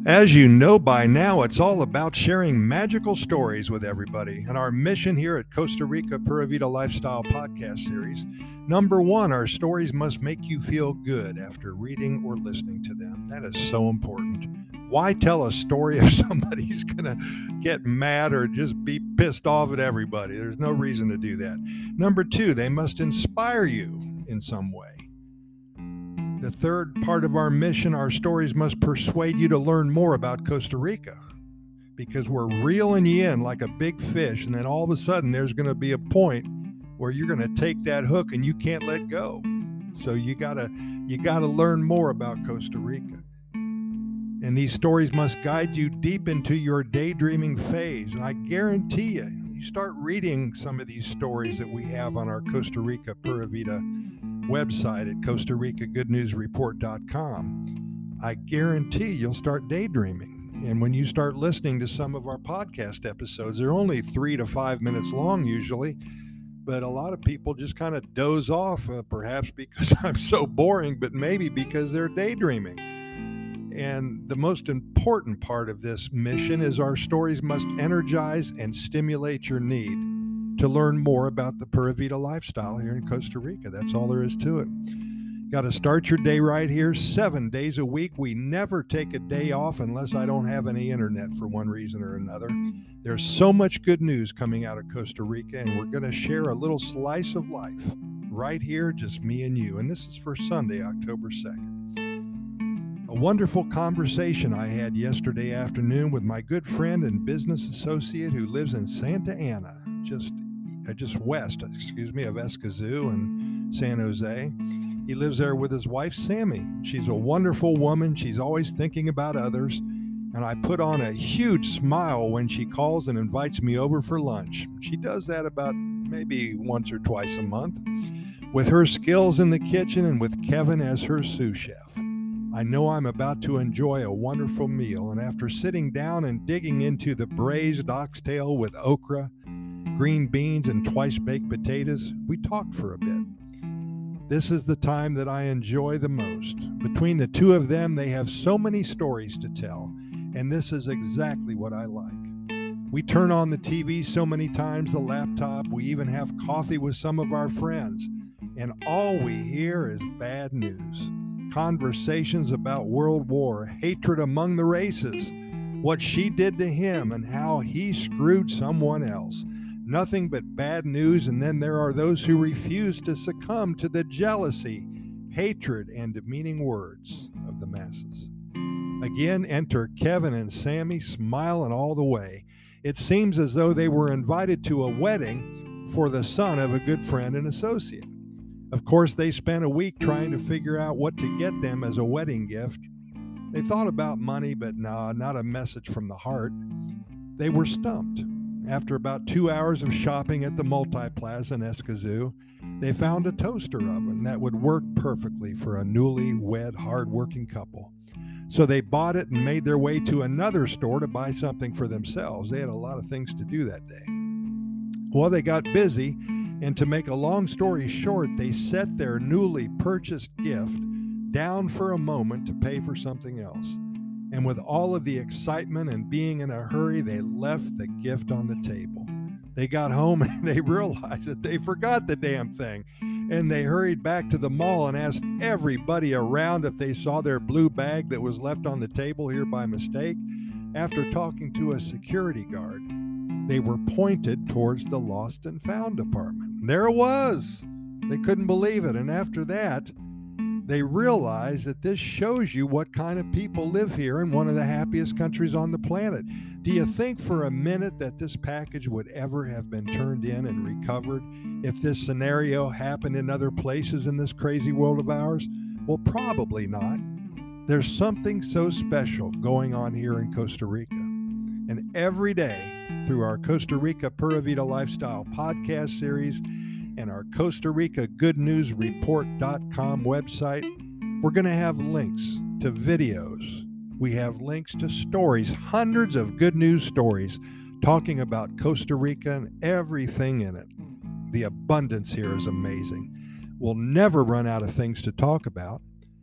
As you know by now, it's all about sharing magical stories with everybody. And our mission here at Costa Rica Pura Vida Lifestyle Podcast Series, number one, our stories must make you feel good after reading or listening to them. That is so important. Why tell a story if somebody's going to get mad or just be pissed off at everybody? There's no reason to do that. Number two, they must inspire you in some way. The third part of our mission, our stories must persuade you to learn more about Costa Rica, because we're reeling you in like a big fish, and then all of a sudden there's going to be a point where you're going to take that hook and you can't let go. So you gotta learn more about Costa Rica. And these stories must guide you deep into your daydreaming phase. And I guarantee you start reading some of these stories that we have on our Costa Rica Pura Vida website at CostaRicaGoodNewsReport.com, I guarantee you'll start daydreaming. And when you start listening to some of our podcast episodes, they're only 3 to 5 minutes long usually, but a lot of people just kind of doze off, perhaps because I'm so boring, but maybe because they're daydreaming. And the most important part of this mission is our stories must energize and stimulate your need to learn more about the Pura Vida lifestyle here in Costa Rica. That's all there is to it. Got to start your day right here, 7 days a week. We never take a day off unless I don't have any internet for one reason or another. There's so much good news coming out of Costa Rica, and we're going to share a little slice of life right here, just me and you. And this is for Sunday, October 2nd. A wonderful conversation I had yesterday afternoon with my good friend and business associate who lives in Santa Ana, just west of Escazú and San Jose. He lives there with his wife, Sammy. She's a wonderful woman. She's always thinking about others. And I put on a huge smile when she calls and invites me over for lunch. She does that about maybe once or twice a month. With her skills in the kitchen and with Kevin as her sous chef, I know I'm about to enjoy a wonderful meal. And after sitting down and digging into the braised oxtail with okra, green beans, and twice-baked potatoes, we talked for a bit. This is the time that I enjoy the most. Between the two of them, they have so many stories to tell, and this is exactly what I like. We turn on the TV so many times, the laptop, we even have coffee with some of our friends, and all we hear is bad news. Conversations about World War, hatred among the races, what she did to him, and how he screwed someone else. Nothing but bad news, and then there are those who refuse to succumb to the jealousy, hatred, and demeaning words of the masses. Again, enter Kevin and Sammy, smiling all the way. It seems as though they were invited to a wedding for the son of a good friend and associate. Of course, they spent a week trying to figure out what to get them as a wedding gift. They thought about money, but nah, not a message from the heart. They were stumped. After about 2 hours of shopping at the Multiplaza in Escazú, they found a toaster oven that would work perfectly for a newly-wed, hard-working couple. So they bought it and made their way to another store to buy something for themselves. They had a lot of things to do that day. Well, they got busy, and to make a long story short, they set their newly purchased gift down for a moment to pay for something else. And with all of the excitement and being in a hurry, they left the gift on the table. They got home and they realized that they forgot the damn thing. And they hurried back to the mall and asked everybody around if they saw their blue bag that was left on the table here by mistake. After talking to a security guard, they were pointed towards the lost and found department. And there it was. They couldn't believe it. And after that, they realize that this shows you what kind of people live here in one of the happiest countries on the planet. Do you think for a minute that this package would ever have been turned in and recovered if this scenario happened in other places in this crazy world of ours? Well, probably not. There's something so special going on here in Costa Rica. And every day, through our Costa Rica Pura Vida Lifestyle podcast series and our Costa Rica GoodNewsReport.com website, we're going to have links to videos. We have links to stories, hundreds of good news stories talking about Costa Rica and everything in it. The abundance here is amazing. We'll never run out of things to talk about.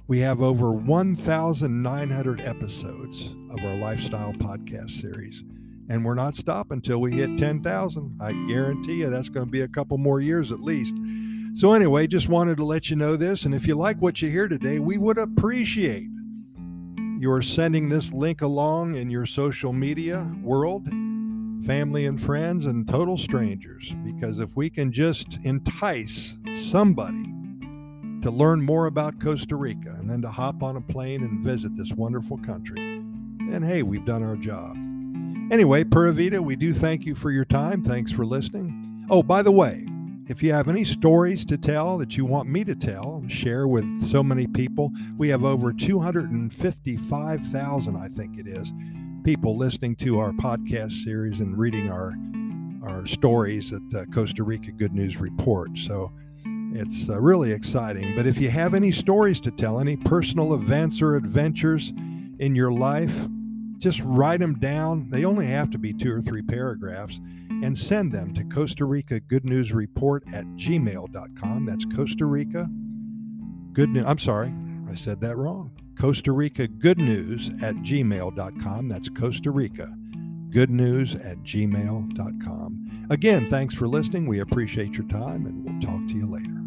We have over 1,900 episodes of our lifestyle podcast series, and we're not stopping until we hit 10,000. I guarantee you that's going to be a couple more years at least. So anyway, just wanted to let you know this, and if you like what you hear today, we would appreciate your sending this link along in your social media world, family and friends, and total strangers, because if we can just entice somebody to learn more about Costa Rica and then to hop on a plane and visit this wonderful country, then hey, we've done our job. Anyway, Pura Vida, we do thank you for your time. Thanks for listening. Oh, by the way, if you have any stories to tell that you want me to tell and share with so many people, we have over 255,000, I think it is, people listening to our podcast series and reading our stories at Costa Rica Good News Report. So it's really exciting. But if you have any stories to tell, any personal events or adventures in your life, just write them down. They only have to be 2 or 3 paragraphs, and send them to Costa Rica Good News Report at gmail.com. That's Costa Rica Good News. I'm sorry, I said that wrong. Costa Rica Good News at gmail.com. That's Costa Rica Good News at gmail.com. Again, thanks for listening. We appreciate your time, and we'll talk to you later.